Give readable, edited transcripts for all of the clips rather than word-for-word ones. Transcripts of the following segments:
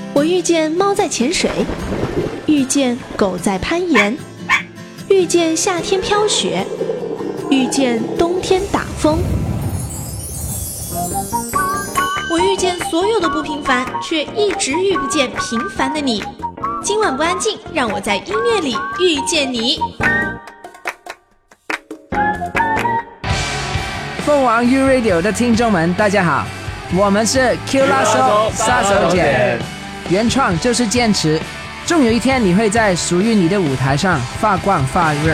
我遇见猫在潜水，遇见狗在攀岩，遇见夏天飘雪，遇见冬天打风。我遇见所有的不平凡，却一直遇不见平凡的你。今晚不安静，让我在音乐里遇见你。 凤凰 U Radio 的听众们，大家好，我们是 Q-Lasso 杀手锏，原创就是坚持，终有一天你会在属于你的舞台上发光发热。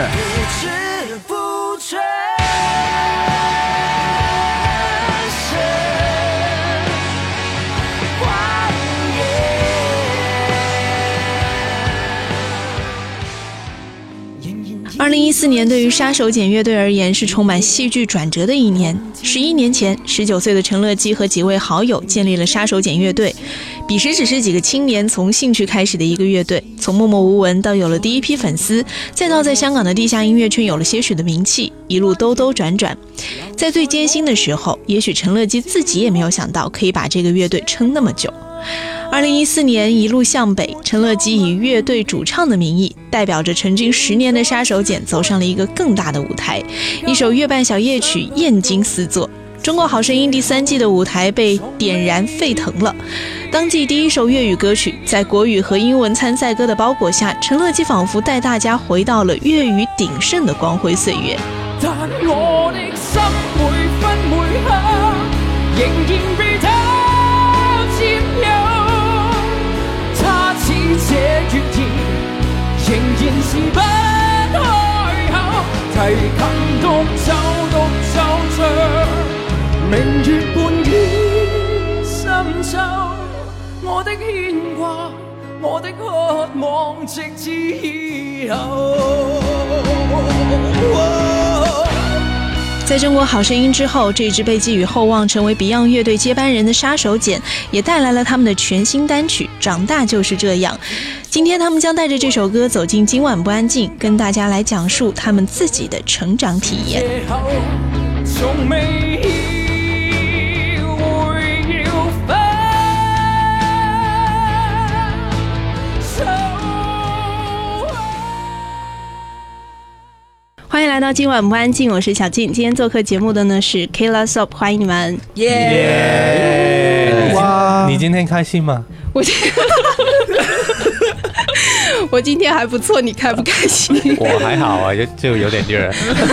2014年对于杀手锏乐队而言是充满戏剧转折的一年。11年前，19岁的陈乐基和几位好友建立了杀手锏乐队。彼时只是几个青年从兴趣开始的一个乐队，从默默无闻到有了第一批粉丝，再到在香港的地下音乐圈有了些许的名气，一路兜兜转转。在最艰辛的时候，也许陈乐基自己也没有想到可以把这个乐队撑那么久。2014年一路向北，陈乐基以乐队主唱的名义，代表着成军10年的杀手锏走上了一个更大的舞台。一首月半小夜曲燕京四座，中国好声音第3季的舞台被点燃沸腾了。当季第一首粤语歌曲，在国语和英文参赛歌的包裹下，陈乐基仿佛带大家回到了粤语鼎盛的光辉岁月。 但我的心每分每刻仍然被他佔有，他似這月兒仍然是不開口，提琴獨奏着明月半倚深秋，我的牽掛，我的渴望，直至以後。 在中国好声音之后，这支被寄予厚望成为 Beyond 乐队接班人的杀手锏也带来了他们的全新单曲《长大就是这样》。今天他们将带着这首歌走进今晚不安静，跟大家来讲述他们自己的成长体验。欢迎来到今晚不安静，我是小静。今天做客节目的呢是 Q-Lasso， 欢迎你们。 耶！哇，你今天开心吗？ 我今天还不错，你开不开心？ 我还好啊，就有点热。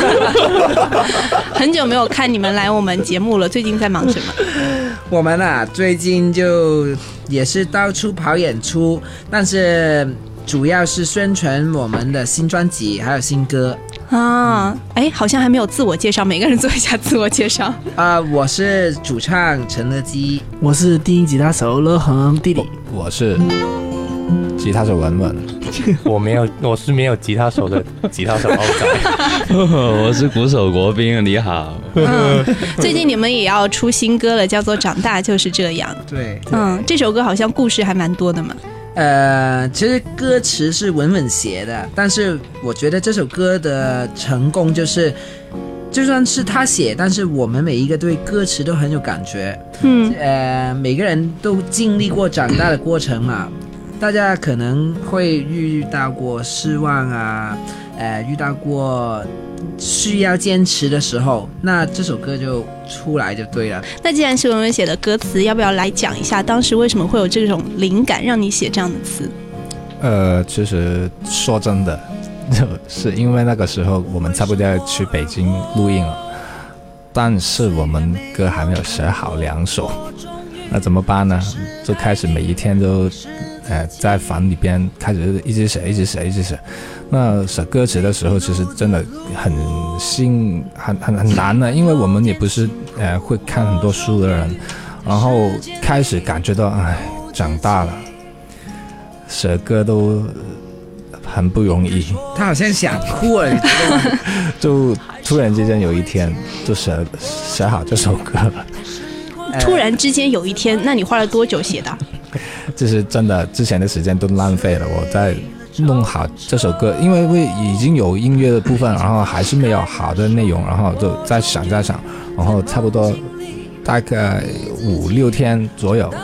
很久没有看你们来我们节目了，最近在忙什么？ 我们啊，最近就也是到处跑演出，但是主要是宣传我们的新专辑还有新歌啊。好像还没有自我介绍，每个人做一下自我介绍。 我是主唱陈乐基， 我是低音吉他手乐恒弟弟， 我是吉他手文文， 我是没有吉他手的吉他手欧仔。 我是鼓手国斌，你好。 最近你们也要出新歌了，叫做《长大就是这样》。 对， 这首歌好像故事还蛮多的嘛。 其实歌词是文文写的，但是我觉得这首歌的成功就是就算是他写，但是我们每一个对歌词都很有感觉。每个人都经历过长大的过程嘛，大家可能会遇到过失望啊，遇到过需要坚持的时候，那这首歌就出来就对了。 那既然是文文写的歌词，要不要来讲一下当时为什么会有这种灵感让你写这样的词？ 其实说真的，就是因为那个时候我们差不多要去北京录音了，但是我们歌还没有写好2首，那怎么办呢？就开始每一天都在房里边开始一直写。那写歌词的时候，其实真的很难的，因为我们也不是会看很多书的人，然后开始感觉到长大了，写歌都很不容易。 他好像想哭了， 就突然之间有一天就写好这首歌了。 突然之间有一天，那你花了多久写的？ 就是真的之前的时间都浪费了，我在弄好这首歌，因为已经有音乐的部分，然后还是没有好的内容，然后就再想，然后差不多大概5-6天左右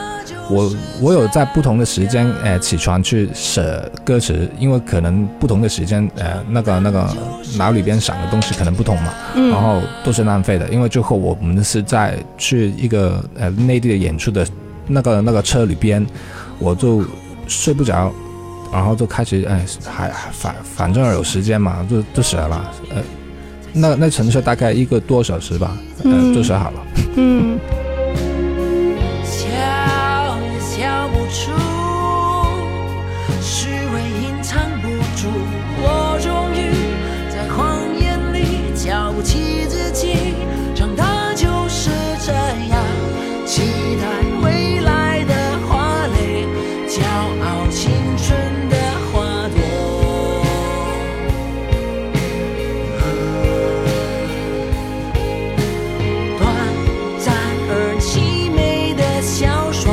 我有在不同的时间起床去写歌词，因为可能不同的时间那个脑里边想的东西可能不同嘛，然后都是浪费的，因为最后我们是在去一个内地的演出的那个车里边，我就睡不着，然后就开始反正有时间嘛，就写了，那程序大概1个多小时吧，就写好了。 笑不出，虚伪隐藏不住，我终于在谎言里瞧不起自己，长大就是这样，期待未来的华丽，骄傲青春的花朵，短暂而凄美的小说，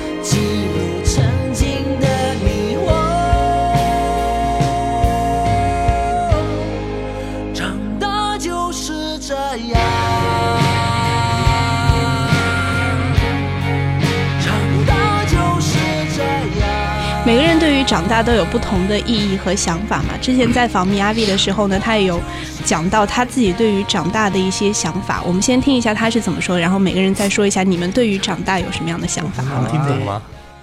每个人对于长大都有不同的意义和想法嘛。之前在访米阿 V 的时候呢，他也有讲到他自己对于长大的一些想法。我们先听一下他是怎么说的，然后每个人再说一下你们对于长大有什么样的想法。 能听懂吗？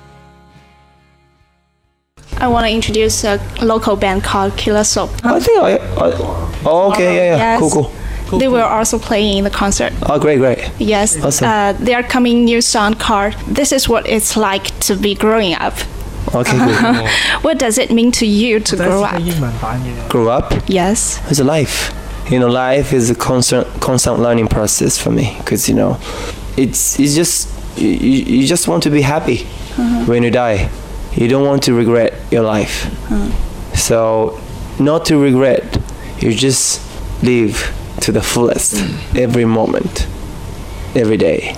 I want to introduce a local band called Killer Soap. I think oh, okay, yeah, Yes. cool. They will also play in the concert. Oh, great. Yes. Awesome. They are coming new song called "This Is What It's Like to Be Growing Up." Okay, good. What does it mean to you to grow up? 英文版嘅。 Grow up? Yes. It's a life. You know, life is a constant learning process for me. Because, you know, it's just, you just want to be happy when you die. You don't want to regret your life. So, not to regret, you just live to the fullest every moment, every day.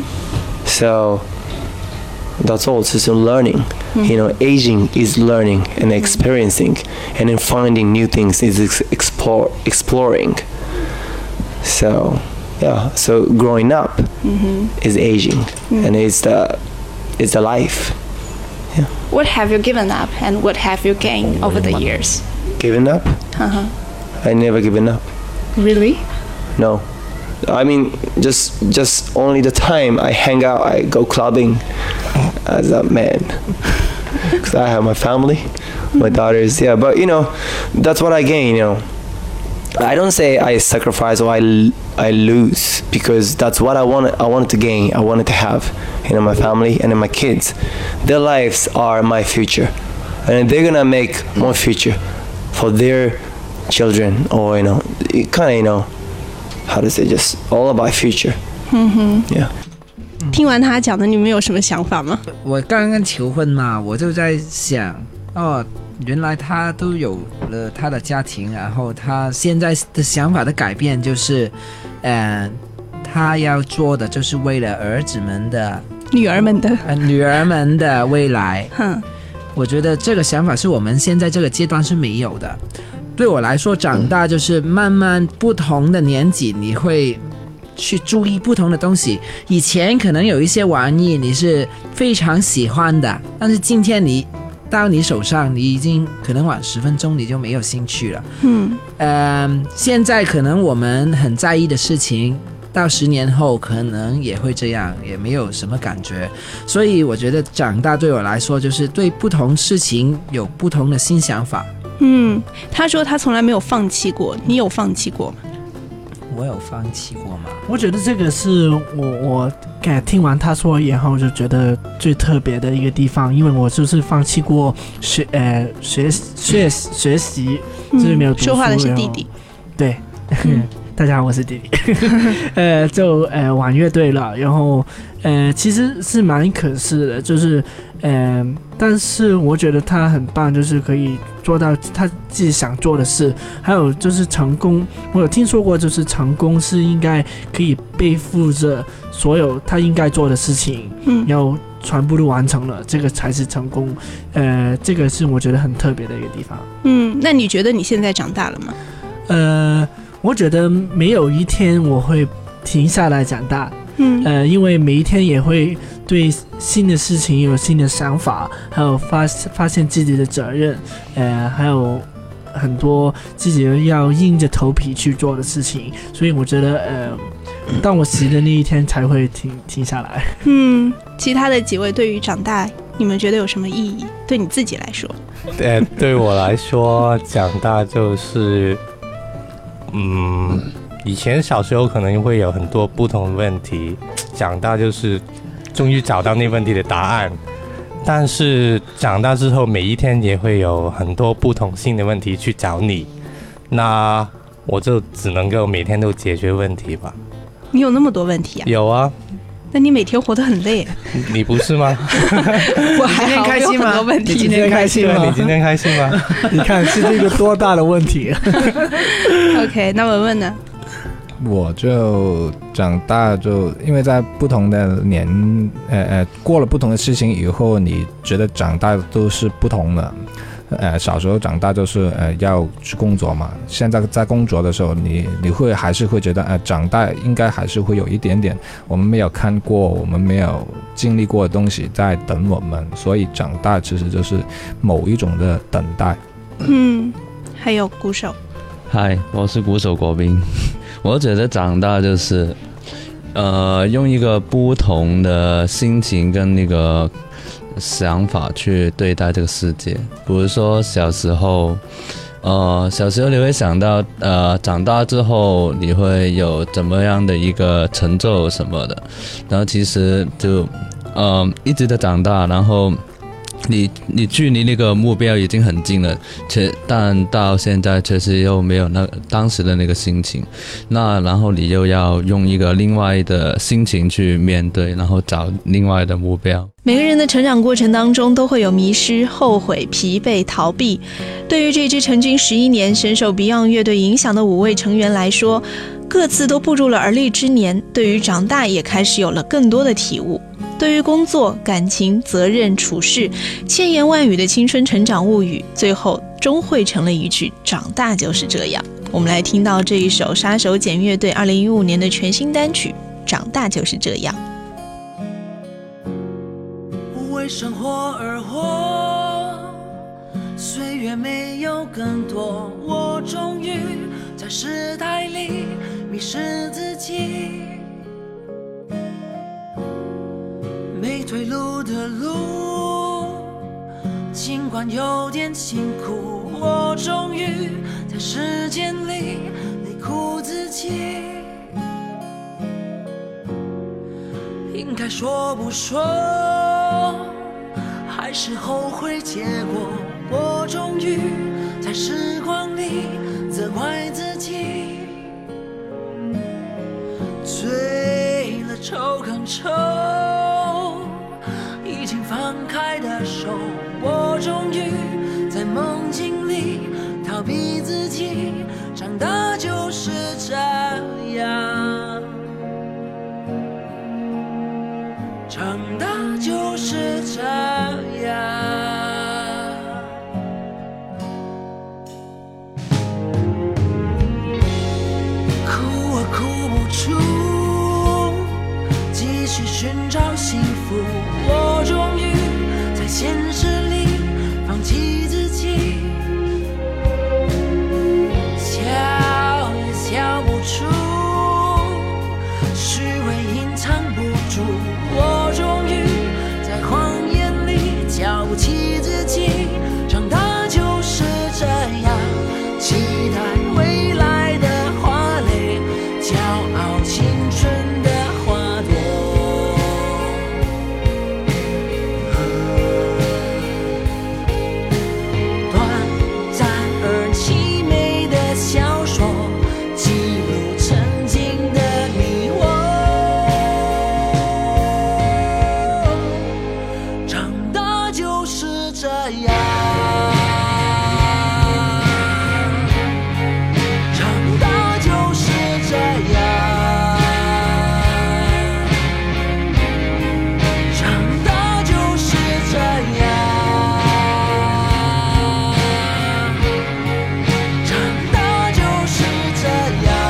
So, that's all. It's just learning. You know, aging is learning and experiencing, and then finding new things is exploring. So, yeah. So growing up is aging, and it's the life. Yeah. What have you given up and what have you gained over the years? Given up? I never given up. Really? No. I mean, just only the time I hang out, I go clubbing as a man. Because I have my family, my daughters, yeah. But, you know, that's what I gain, you know. I don't say I sacrifice or I lose, because that's what I wanted to gain, I wanted to have, you know, my family and then my kids. Their lives are my future. And they're gonna make more future for their children, or, you know, kind of, you know, how to say, just all about future. Yeah. 听完他讲的，你们有什么想法吗？ 我刚刚求婚嘛，我就在想，哦，原来他都有了他的家庭，然后他现在的想法的改变就是，他要做的就是为了儿子们的、 女儿们的未来。我觉得这个想法是我们现在这个阶段是没有的。对我来说，长大就是慢慢不同的年纪，你会去注意不同的东西。以前可能有一些玩意你是非常喜欢的，但是今天你到你手上，你已经可能晚10分钟你就没有兴趣了。现在可能我们很在意的事情，到10年后可能也会这样，也没有什么感觉。所以我觉得长大对我来说就是对不同事情有不同的新想法。 他说他从来没有放弃过，你有放弃过吗？ 我有放弃过吗？ 我觉得这个是我听完他说以后就觉得最特别的一个地方，因为我就是放弃过学习，就是没有读书。 说话的是弟弟。 对。大家好，我是弟弟。就玩乐队了，然后其实是蛮可惜的，就是但是我觉得他很棒，就是可以做到他自己想做的事。还有就是成功，我有听说过，就是成功是应该可以背负着所有他应该做的事情，然后全部都完成了，这个才是成功。这个是我觉得很特别的一个地方。 那你觉得你现在长大了吗？ 我觉得没有一天我会停下来长大，因为每一天也会对新的事情有新的想法，还有发现自己的责任，还有很多自己要硬着头皮去做的事情，所以我觉得当我习的那一天才会停下来。 其他的几位对于长大，你们觉得有什么意义？对你自己来说？ 对我来说，长大就是，以前小时候可能会有很多不同的问题，长大就是终于找到那问题的答案。但是长大之后，每一天也会有很多不同性的问题去找你，那我就只能够每天都解决问题吧。 你有那么多问题啊？ 有啊。 那你每天活得很累。 你不是吗？ 我还好， 开心吗？ 问题。 你今天开心吗？ 你今天开心吗？ 你看是这个多大的问题。 OK， 那文文呢？ 我就长大就因为在不同的过了不同的事情以后，你觉得长大都是不同的。小时候长大就是要去工作嘛，现在在工作的时候你还是会觉得长大应该还是会有一点点我们没有看过我们没有经历过的东西在等我们，所以长大其实就是某一种的等待。 还有鼓手。 嗨，我是鼓手国斌。我觉得长大就是用一个不同的心情跟那个想法去对待这个世界。比如说小时候你会想到长大之后你会有怎么样的一个成就什么的，然后其实就一直的长大，然后你距离那个目标已经很近了，但到现在确实又没有当时的那个心情，然后你又要用一个另外的心情去面对，然后找另外的目标。 每个人的成长过程当中都会有迷失、后悔、疲惫、逃避。对于这支成军11年、深受 Beyond 乐队影响的5位成员来说，各自都步入了而立之年，对于长大也开始有了更多的体悟。对于工作、感情、责任、处事，千言万语的青春成长物语，最后终汇成了一句长大就是这样。我们来听到这一首杀手锏乐队2015年的全新单曲《长大就是这样》。 为生活而活，岁月没有更多，我终于在时代里迷失自己。没退路的路，尽管有点辛苦，我终于在时间里累苦自己。应该说不说，还是后悔结果，我终于在时光里责怪自己。醉了抽更抽，已经放开的手，我终于在梦境里逃避自己。长大就是这样，长大就是这样。哭啊哭不出，继续寻找幸福，我终于在现实里放弃自己。笑也笑不出，虚伪隐藏不住，我终于在谎言里瞧不起自己。长大就是这样，期待未来的花蕾，骄傲青春的花朵。短暂而凄美的小说，记录曾经的你我。长大就是这样，长大就是这样，长大就是这样，长大就是这样。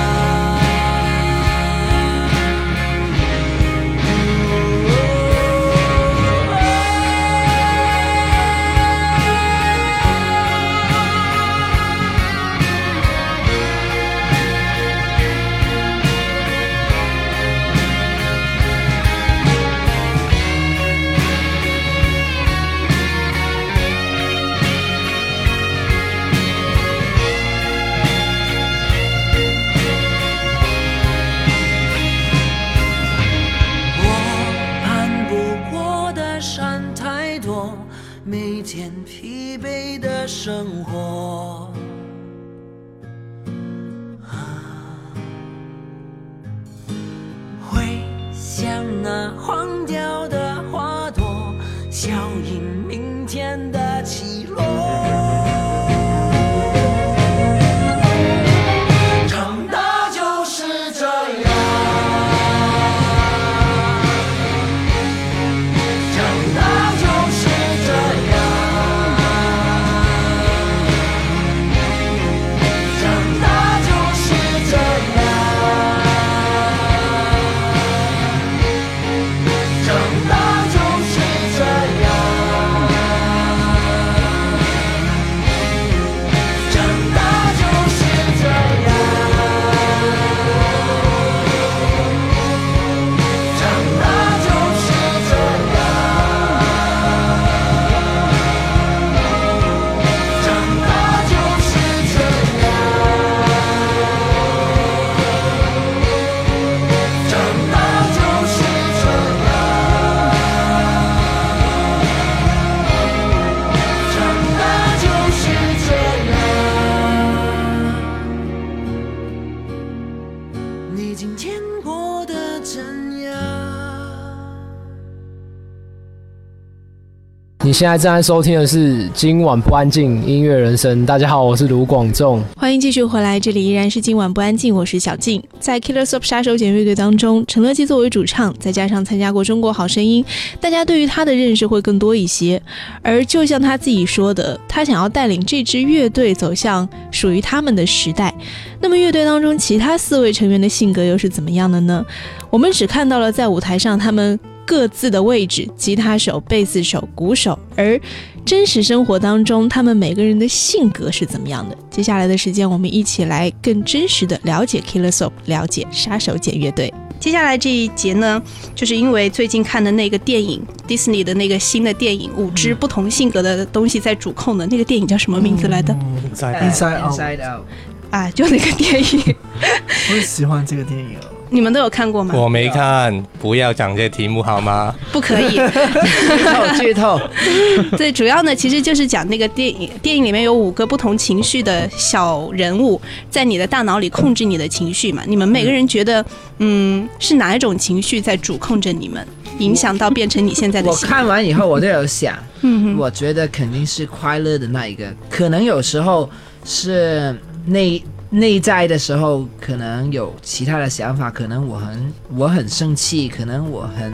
太多，每天疲惫的生活。会像那黄掉的花朵，效应明天的起落。长大就是这样，长大就是这样，长大就是这样，长大就是这样，长大就是这样。你今天过得怎样？ 你现在正在收听的是今晚不安静音乐人生。大家好，我是卢广仲， 欢迎继续回来，这里依然是今晚不安静，我是小静。在 Killersop 杀手锏乐队当中，陈乐基作为主唱，再加上参加过中国好声音，大家对于他的认识会更多一些。而就像他自己说的，他想要带领这支乐队走向属于他们的时代。那么乐队当中其他4位成员的性格又是怎么样的呢？我们只看到了在舞台上他们各自的位置，吉他手、贝斯手、鼓手，而真实生活当中他们每个人的性格是怎么样的？接下来的时间我们一起来更真实的了解 Killersop， 了解杀手锏乐队。 接下来这一节呢，就是因为最近看的那个电影，迪士尼的那个新的电影，5只不同性格的东西在主控的那个电影叫什么名字来的 Inside Out 啊，就那个电影我很喜欢这个电影哦。 你们都有看过吗？ 我没看，不要讲这题目好吗？ 不可以剧透对，主要呢其实就是讲那个电影里面有5个不同情绪的小人物在你的大脑里控制你的情绪嘛，你们每个人觉得是哪一种情绪在主控着你们，影响到变成你现在的性格？ 我看完以后我都有想我觉得肯定是快乐的那一个，可能有时候是内在的时候可能有其他的想法，可能我很生气，可能我很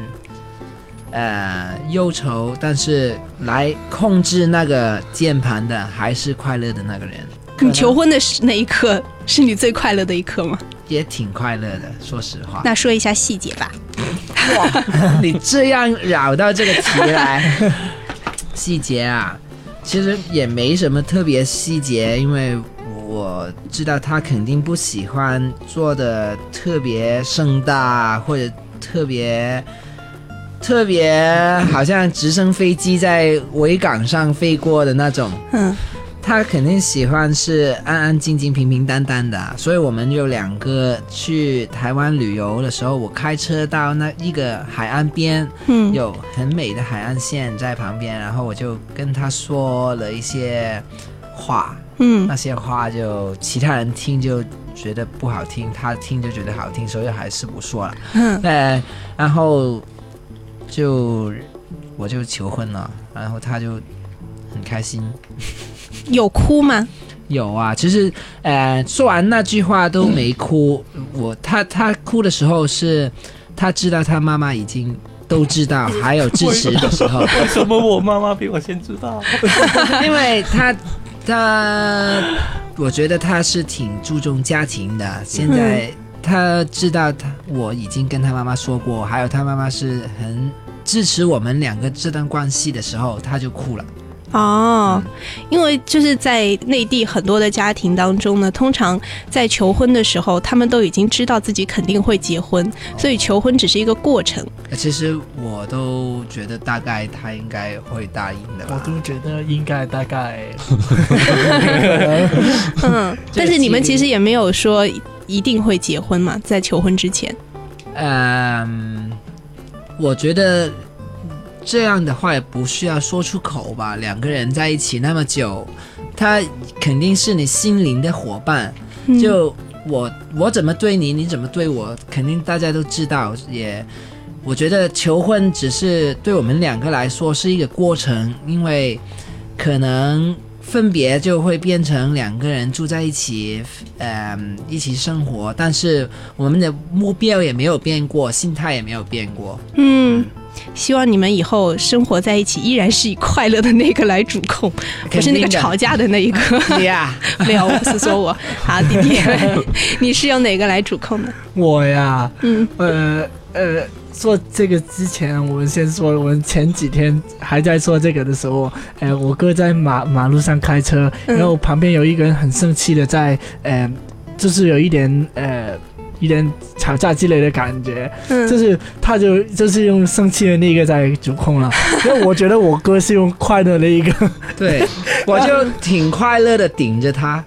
忧愁，但是来控制那个键盘的还是快乐的那个人。 你求婚的那一刻是你最快乐的一刻吗？ 也挺快乐的，说实话。 那说一下细节吧。 哇，你这样绕到这个题来，细节啊，其实也没什么特别细节，因为我知道他肯定不喜欢做的特别盛大，或者特别好像直升飞机在维港上飞过的那种。他肯定喜欢是安安静静、平平淡淡的。所以我们有2个去台湾旅游的时候，我开车到那一个海岸边，有很美的海岸线在旁边，然后我就跟他说了一些话。那些话就其他人听就觉得不好听，他听就觉得好听，所以还是不说了。然后我就求婚了，然后他就很开心。 有哭吗？ 有啊，其实说完那句话都没哭。他哭的时候是他知道他妈妈已经都知道，还有支持的时候。 为什么我妈妈比我先知道？ 因为他我觉得他是挺注重家庭的，现在他知道我已经跟他妈妈说过，还有他妈妈是很支持我们2个这段关系的时候，他就哭了。 因为就是在内地很多的家庭当中呢，通常在求婚的时候他们都已经知道自己肯定会结婚，所以求婚只是一个过程。 其实我都觉得大概他应该会答应的吧。 我都觉得应该大概但是你们其实也没有说一定会结婚嘛，在求婚之前。 我觉得这样的话也不需要说出口吧。两个人在一起那么久，他肯定是你心灵的伙伴。就我怎么对你，你怎么对我，肯定大家都知道。也我觉得求婚只是对我们两个来说是一个过程，因为可能分别就会变成两个人住在一起，一起生活，但是我们的目标也没有变过，心态也没有变过。 希望你们以后生活在一起依然是以快乐的那个来主控，不是那个吵架的那一个。没有，我不是说我。好，弟弟，你是用哪个来主控的？ 我呀，做这个之前，我们先说，我们前几天还在说这个的时候，我哥在马路上开车，然后旁边有一个人很生气的在，就是有一点吵架之类的感觉，就是他就是用生气的那个在主控了，因为我觉得我哥是用快乐的一个， 对，我就挺快乐的顶着他。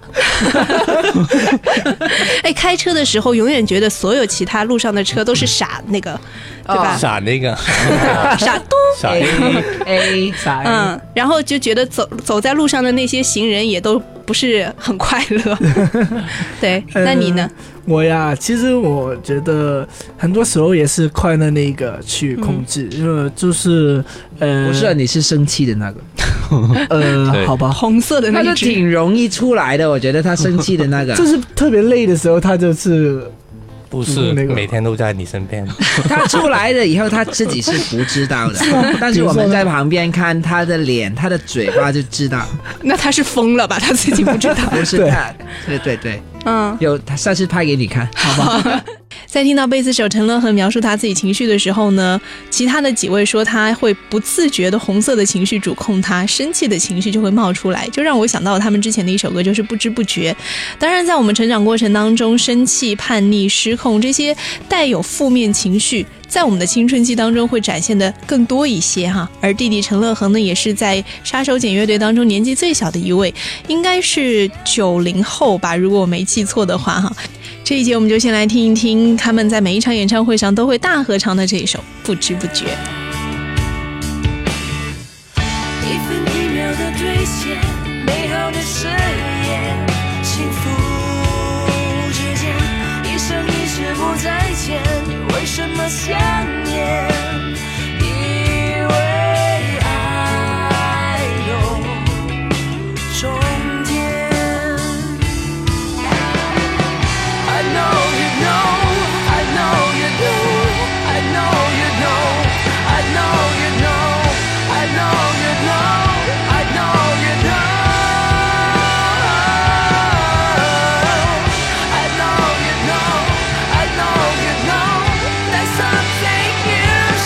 开车的时候永远觉得所有其他路上的车都是傻那个，对吧？ 傻那个， 傻嘟， 傻 A 傻， 然后就觉得走在路上的那些行人也都不是很快乐。对，那你呢？ 我呀，其实我觉得很多时候也是快乐那个去控制，就是不是你是生气的那个， 好吧， 红色的那个，他就挺容易出来的，我觉得他生气的那个， 就是特别累的时候，他就是不是每天都在你身边。 他出来了以后，他自己是不知道的，但是我们在旁边看他的脸、他的嘴巴就知道。 那他是疯了吧？他自己不知道。 不是他，对，有他下次拍给你看，好吧？ 在听到贝斯手陈乐和描述他自己情绪的时候呢，其他的几位说他会不自觉的红色的情绪主控他，生气的情绪就会冒出来，就让我想到他们之前的一首歌，就是不知不觉。当然在我们成长过程当中，生气、叛逆、失控这些带有负面情绪在我们的青春期当中会展现的更多一些哈。而弟弟陈乐恒呢，也是在杀手锏乐队当中年纪最小的一位，应该是90后吧，如果我没记错的话哈。这一节我们就先来听一听他们在每一场演唱会上都会大合唱的这一首《不知不觉》。 一分一秒的兑现，美好的誓言，幸福之间，一生一世不再见，为什么想念？以为爱有终点。I know you know, I know you do, I know you know, I know you know, I know you know, I know you know, I know you know, I know you know, there's something you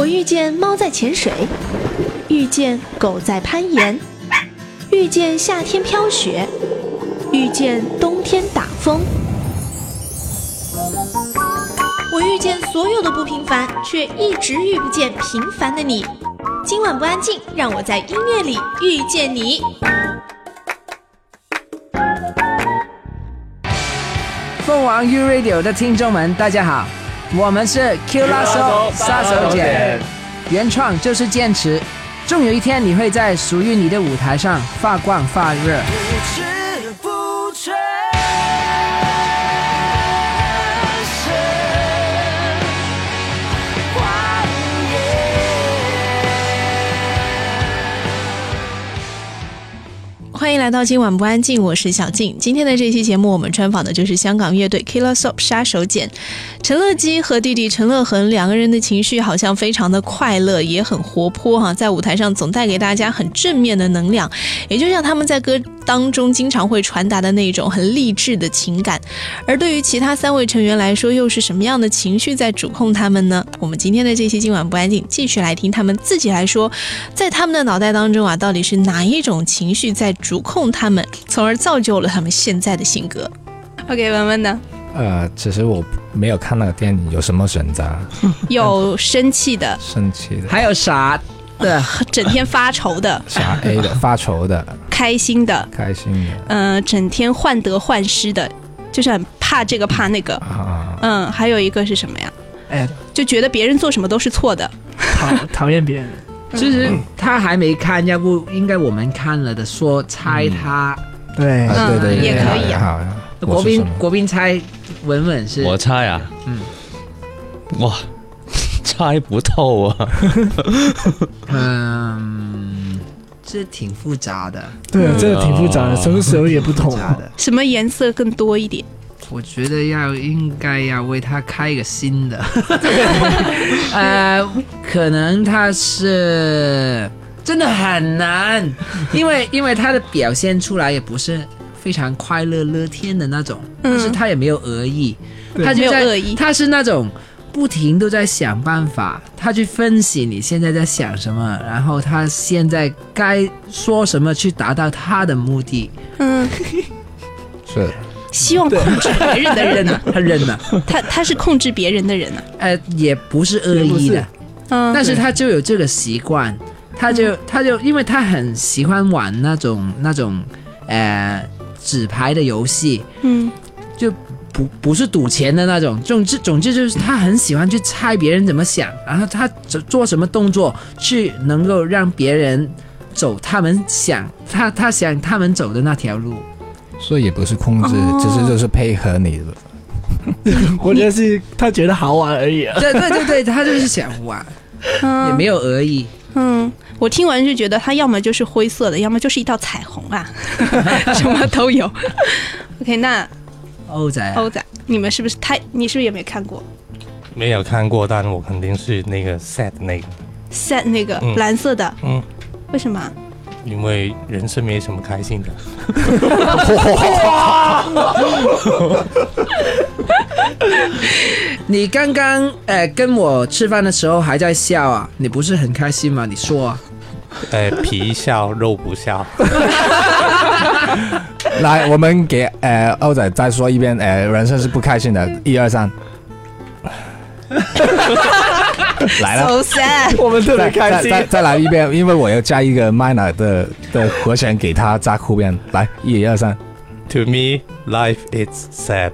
我遇见猫在潜水，遇见狗在攀岩，遇见夏天飘雪，遇见冬天打风。我遇见所有的不平凡，却一直遇不见平凡的你。今晚不安静，让我在音乐里遇见你。 凤凰 U Radio 的听众们，大家好，我们是 Q-Lasso 杀手锏，原创就是坚持，终有一天你会在属于你的舞台上发光发热。 欢迎来到今晚不安静，我是小静。今天的这期节目，我们专访的就是香港乐队 Killer Soap 杀手锏。陈乐基和弟弟陈乐恒两个人的情绪好像非常的快乐，也很活泼哈，在舞台上总带给大家很正面的能量，也就像他们在歌当中经常会传达的那种很励志的情感。而对于其他3位成员来说，又是什么样的情绪在主控他们呢？我们今天的这期今晚不安静，继续来听他们自己来说，在他们的脑袋当中啊，到底是哪一种情绪在主控他们，从而造就了他们现在的性格。 OK， 文文呢？ 其实我没有看那个电影，有什么选择？ 有生气的， 还有傻的， 整天发愁的， 傻 A 的，发愁的， 开心的，整天患得患失的，就是很怕这个怕那个。还有一个是什么呀？就觉得别人做什么都是错的， 讨厌别人。 其实他还没看，要不应该我们看了的说猜他。 对， 也可以啊。 国宾猜文文是？ 我猜啊，哇，猜不透啊。 这挺复杂的。 对啊，这个挺复杂的，什么时候也不同。 什么颜色更多一点？ 我觉得应该要为他开一个新的。可能他是真的很难，因为他的表现出来也不是非常快乐乐天的那种，但是他也没有恶意，他就在他是那种不停都在想办法，他去分析你现在在想什么，然后他现在该说什么去达到他的目的。 是希望控制别人的人他认了， 他是控制别人的人啊。 也不是恶意的，但是他就有这个习惯，他就因为他很喜欢玩那种纸牌的游戏，就不是赌钱的那种，总之就是他很喜欢去猜别人怎么想，然后他做什么动作去能够让别人走他们想他想他们走的那条路。 所以也不是控制，只是就是配合你的。 我觉得是他觉得好玩而已啊。 对，他就是想玩，也没有恶意。 我听完就觉得他要么就是灰色的，要么就是一道彩虹啊，什么都有。OK， 那欧仔， 你是不是也没看过？ 没有看过，但我肯定是那个 sad 那个蓝色的。为什么？ 因为人生没什么开心的。 你刚刚跟我吃饭的时候还在笑啊，你不是很开心吗？你说啊。 皮笑肉不笑。 来，我们给欧仔再说一遍，人生是不开心的，1、2、3。来了 ，so sad， 我们特别开心。 再来一遍，因为我要加一个 minor 的和弦给他加后边。来，1、2、3。 To me, life is sad。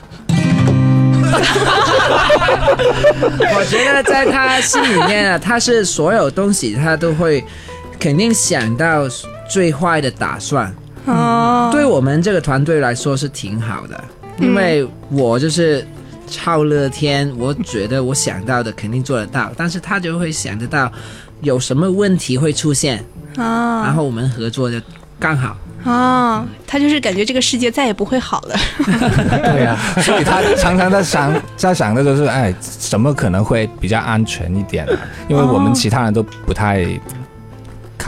我觉得在他心里面啊，他是所有东西他都会肯定想到最坏的打算。对我们这个团队来说是挺好的，因为我就是超乐天，我觉得我想到的肯定做得到，但是他就会想得到有什么问题会出现，然后我们合作就刚好。 他就是感觉这个世界再也不会好了。 对啊，所以他常常在想的就是什么可能会比较安全一点啊，因为我们其他人都不太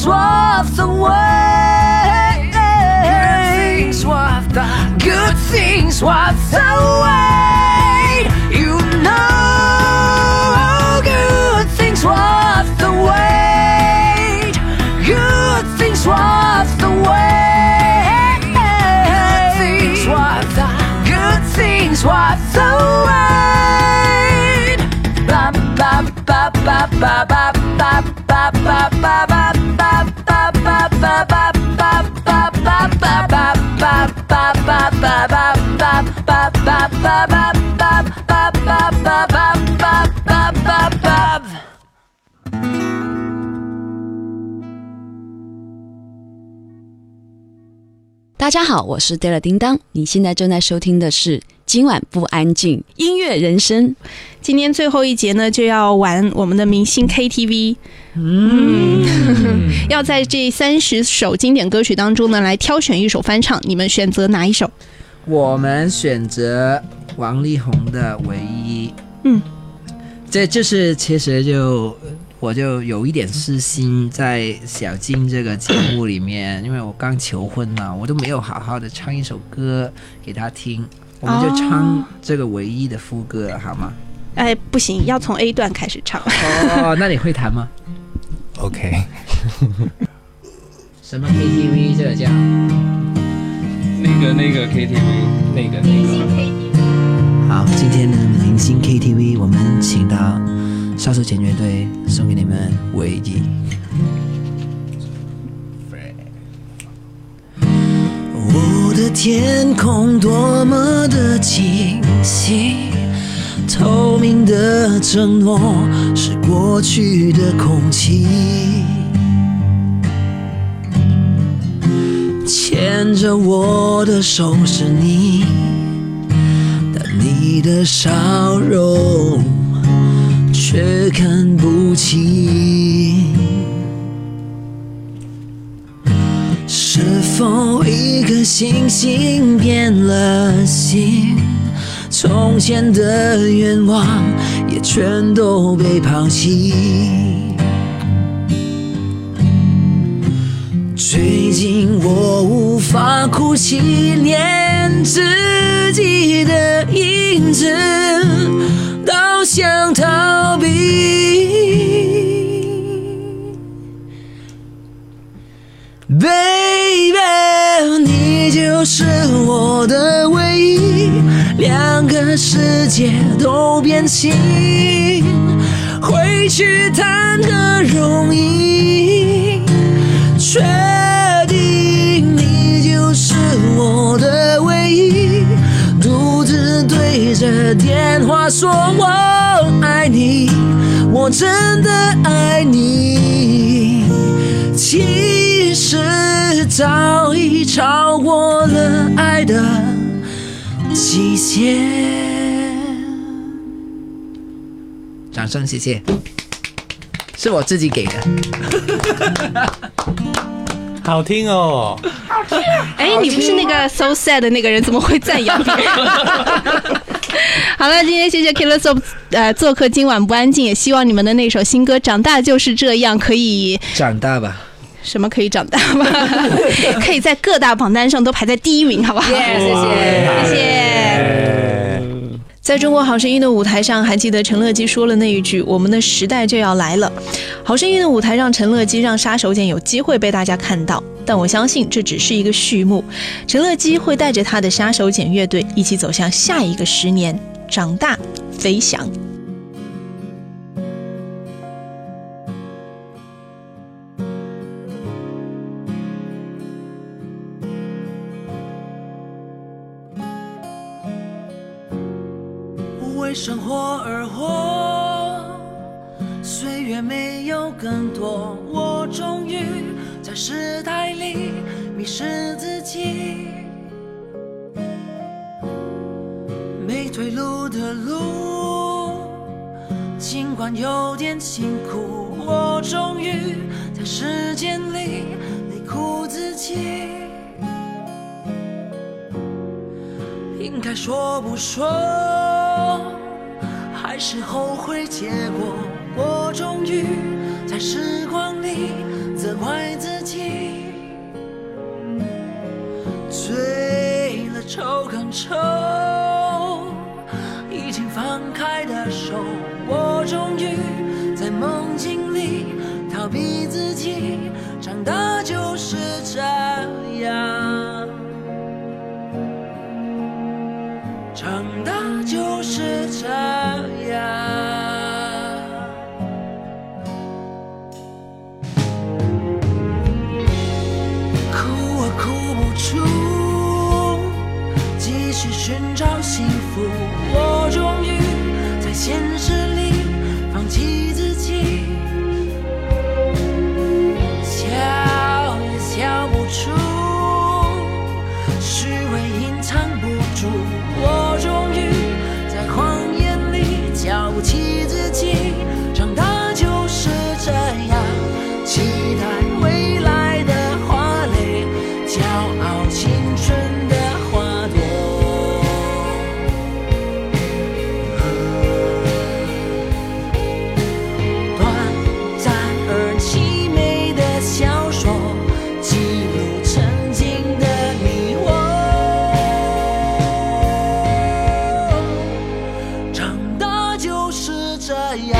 things worth the wait. Good things worth the wait. You know, good things worth the wait. Good things worth the wait. Good things worth the wait. Ba ba ba ba ba ba ba ba ba ba ba ba ba ba ba ba. 大家好，我是 Della 叮当，你现在正在收听的是今晚不安静音乐人生。 今天最后一节呢，就要玩我们的明星 KTV。要在这30首经典歌曲当中呢，来挑选一首翻唱，你们选择哪一首？ 我们选择王力宏的《唯一》。这就是其实我就有一点私心在小金这个节目里面，因为我刚求婚嘛，我都没有好好的唱一首歌给他听，我们就唱这个《唯一》的副歌好吗？ 哎，不行，要从 A 段开始唱。 哦，那你会弹吗 ？OK。 什么 KTV 这个叫？ 那个 KTV， 那个。 好，今天的明星 KTV 我们请到杀手锏乐队送给你们《唯一》。 我的天空多么的清晰，透明的承诺是过去的空气，牵着我的手是你，但你的笑容却看不清。是否一颗星星变了心？从前的愿望也全都被抛弃。最近我无法哭泣，连自己的影子都想逃避。Baby， 你就是我的唯一，两个世界都变形，回去谈何容易？确定你就是我的唯一，独自对着电话说我爱你，我真的爱你。其实早已超过了爱的极限。 掌声谢谢，是我自己给的。 好听哦！ 哎，你不是那个 so sad 的那个人，怎么会赞扬别人？好了，今天谢谢 Killer Soap 做客今晚不安静，也希望你们的那首新歌《长大就是这样》可以长大吧。 什么可以长大吧？可以在各大榜单上都排在第1名，好不好？谢谢。 在中国好声音的舞台上，还记得陈乐基说了那一句我们的时代就要来了。好声音的舞台让陈乐基让杀手锏有机会被大家看到，但我相信这只是一个序幕，陈乐基会带着他的杀手锏乐队一起走向下一个10年，长大飞翔。 为生活而活，岁月没有更多，我终于在时代里迷失自己。没退路的路，尽管有点辛苦，我终于在时间里累哭自己。应该说不说，还是后悔结果，我终于在时光里责坏自己，醉了抽更抽，已经放开的手，我终于在梦境里逃避自己，长大就是这样，长大就是这样。继续寻找幸福，我终于在现实里放弃自己，笑也笑不出，虚伪隐藏不住，我终于在谎言里瞧不起自己，长大就是这样，期待未来的花蕾，骄傲青春的花朵，短暂而凄美的小说，记录曾经的你我，长大就是这样，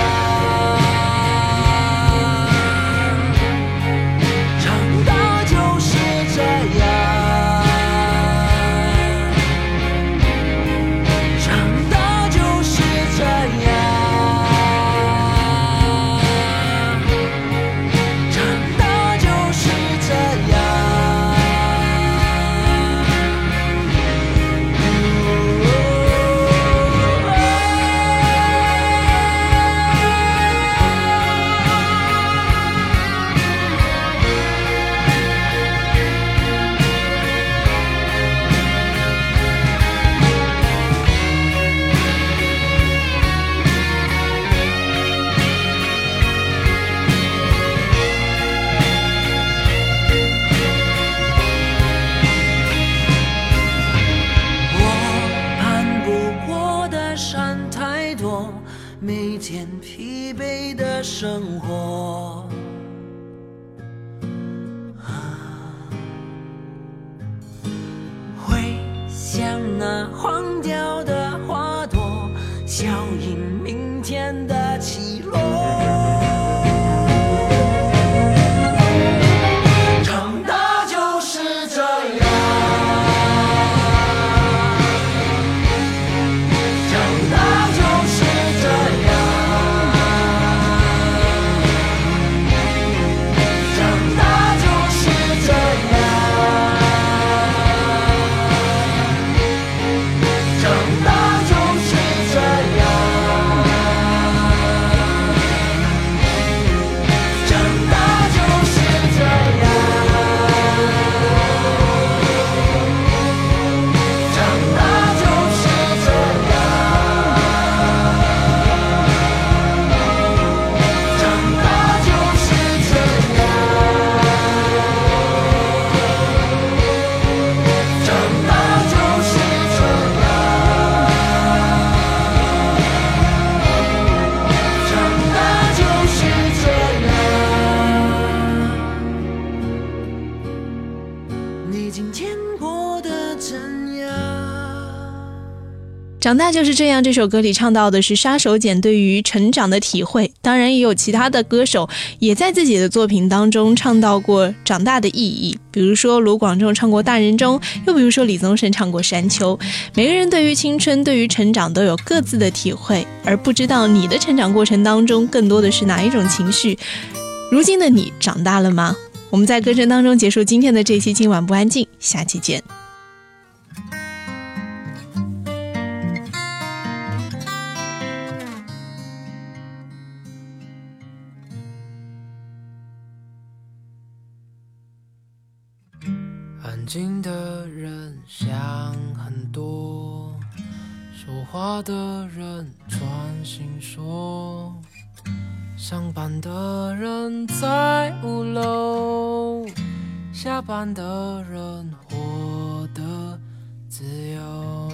长大就是这样，长大就是这样，长大就是这样。我攀不过的山太多，每天疲惫的生活，会像那黄掉的花朵，效应明天的起落。长大就是这样，长大就是这样，长大就是这样，长大就是这样，长大就是这样，长大就是这样，长大就是这样，长大就是这样，长大就是这样，你今天过得怎样？ 长大就是这样，这首歌里唱到的是杀手锏对于成长的体会，当然也有其他的歌手也在自己的作品当中唱到过长大的意义，比如说卢广仲唱过大人中，又比如说李宗盛唱过山丘。每个人对于青春对于成长都有各自的体会，而不知道你的成长过程当中更多的是哪一种情绪。如今的你长大了吗？我们在歌声当中结束今天的这期今晚不安静，下期见。 安静的人想很多，说话的人专心说，上班的人在5楼，下班的人活得自由，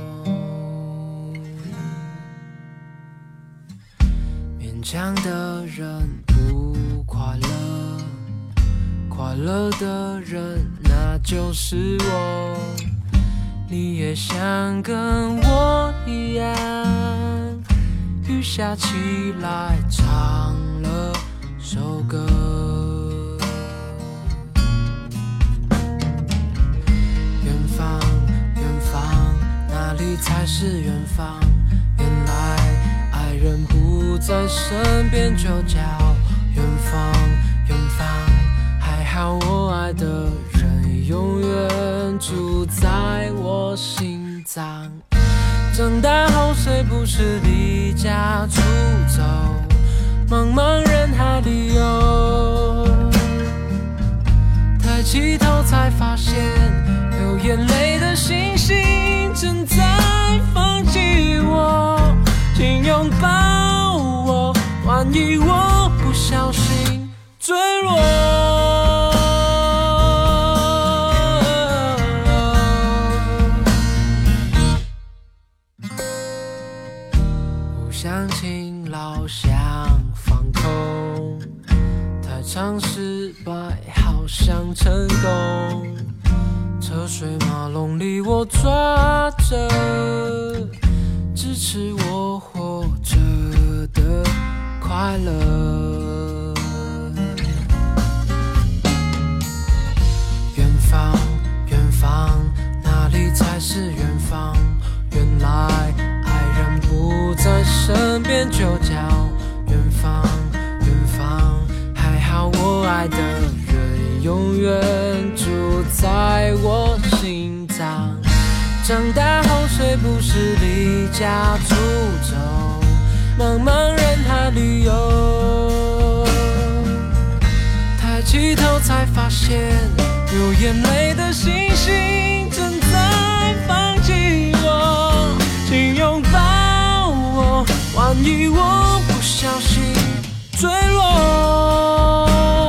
勉强的人不快乐，快乐的人，那就是我。你也想跟我一样，雨下起来唱了首歌。远方，远方，哪里才是远方？原来爱人不在身边就叫远方，远方。还好我爱的人永远住在我心脏。长大后谁不是离家出走，茫茫人海里游，抬起头才发现流眼泪的星星正在放弃我，请拥抱我，万一我不小心坠落。想勤劳想放空，太常失败好像成功，车水马龙里我抓着支持我活着的快乐。远方，远方，哪里才是远方？原来不在身边就叫远方，远方。还好我爱的人永远住在我心脏。长大后谁不是离家出走，茫茫人海里游，抬起头才发现流眼泪的星星正在放弃我，请拥抱我，万一我不小心坠落。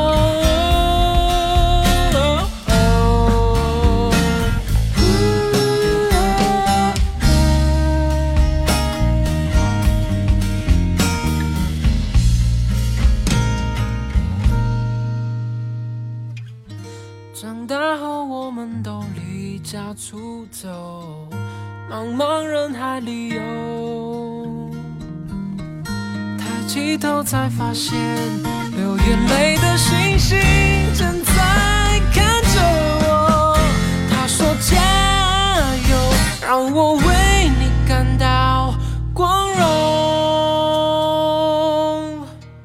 长大后我们都离家出走，茫茫人海里游，抬起头才发现流眼泪的星星正在看着我。他说加油，让我为你感到光荣。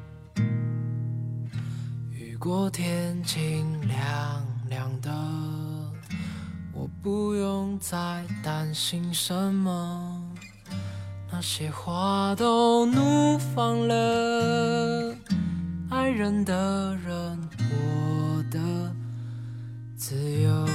雨过天晴亮亮的，我不用再担心什么，那些花都怒放了，爱人的人我的自由。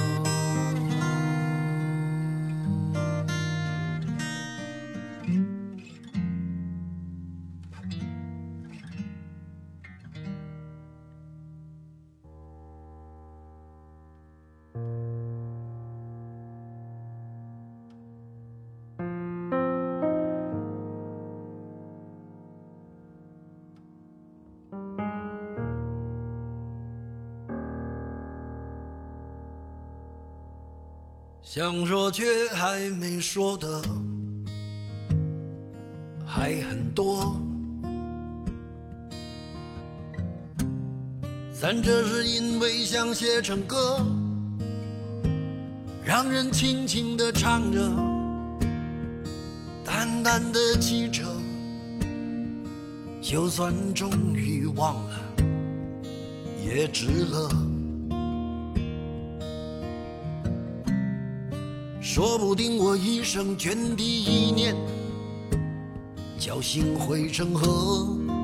想说却还没说的还很多，但这是因为想写成歌，让人轻轻地唱着，淡淡的记着，就算终于忘了也值了。说不定我一生涓滴一念，侥幸汇成河，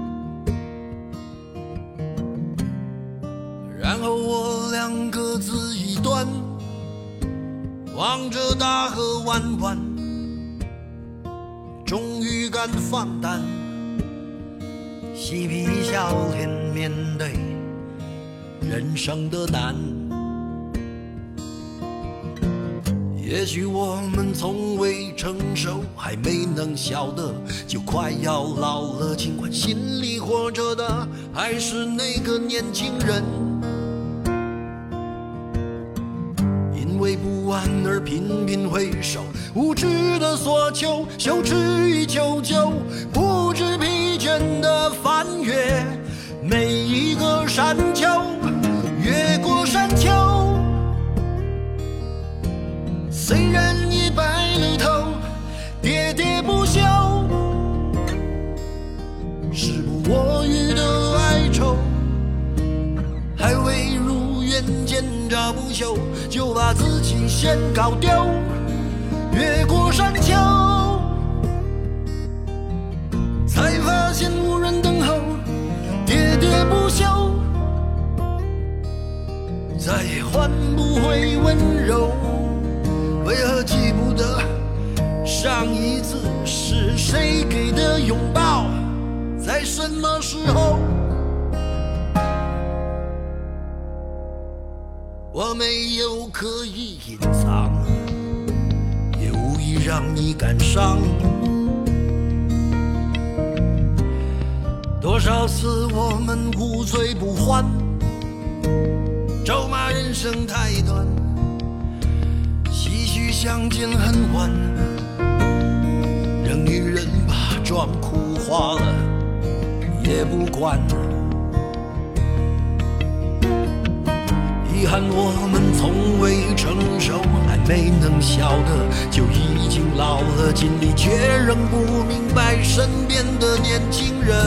然后我俩各自一端，望着大河弯弯，终于敢放胆，嬉皮笑脸面对人生的难。也许我们从未成熟，还没能晓得，就快要老了，尽管心里活着的还是那个年轻人。 完而频频回首，无知的索求，羞耻与求救，不知疲倦的翻越每一个山丘，越过山丘。虽然已白了头，喋喋不休，时不我予的哀愁，还未如愿见着不朽，就把自己先搞丢。越过山丘，才发现无人等候，喋喋不休，再也换不回温柔。为何记不得上一次是谁给的拥抱，在什么时候？我没有刻意隐藏，也无意让你感伤。多少次我们无醉不欢，咒骂人生太短，唏嘘相见很晚，让女人把妆哭花了也不管。遗憾我们从未成熟，还没能笑得就已经老了，尽力却仍不明白身边的年轻人。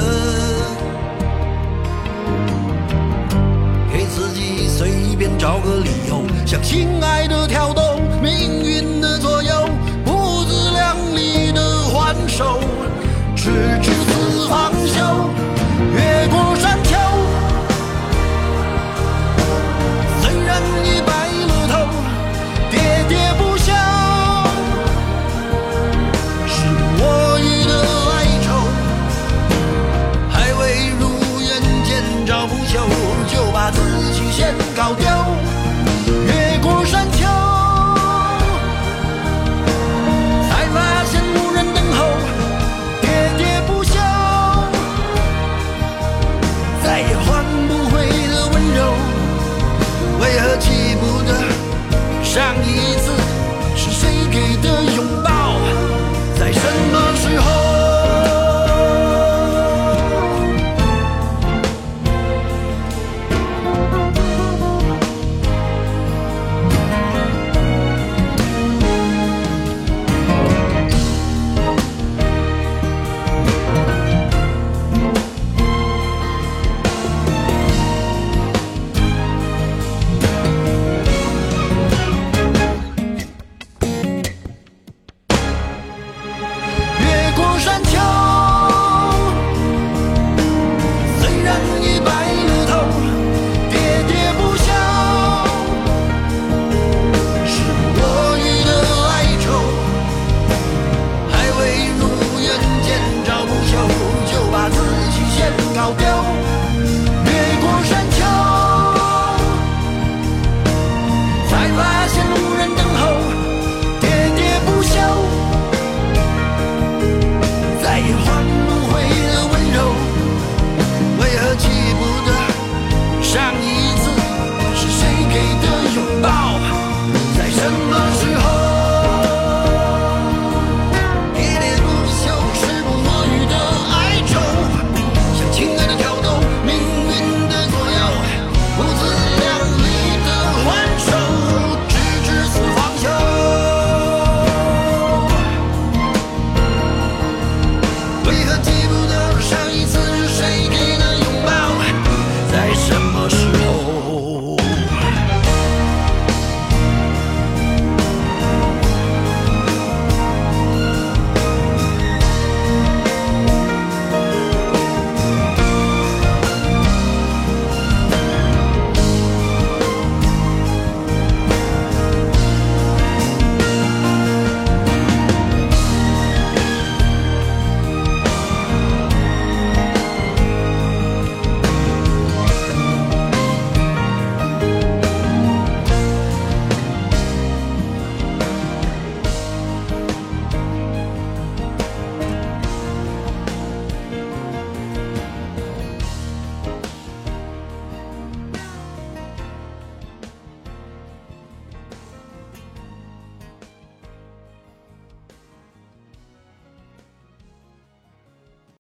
给自己随便找个理由，向心爱的挑逗，命运的左右，不自量力的还手，直至死方休。越过山丘，虽然已白了头，喋喋不休，是我予的哀愁，还未如愿见着不朽，就把自己先搞丢。越过山丘，才发现无人等候，喋喋不休，再也换不回的温柔。为何记不得上一次是谁给的拥抱，在什么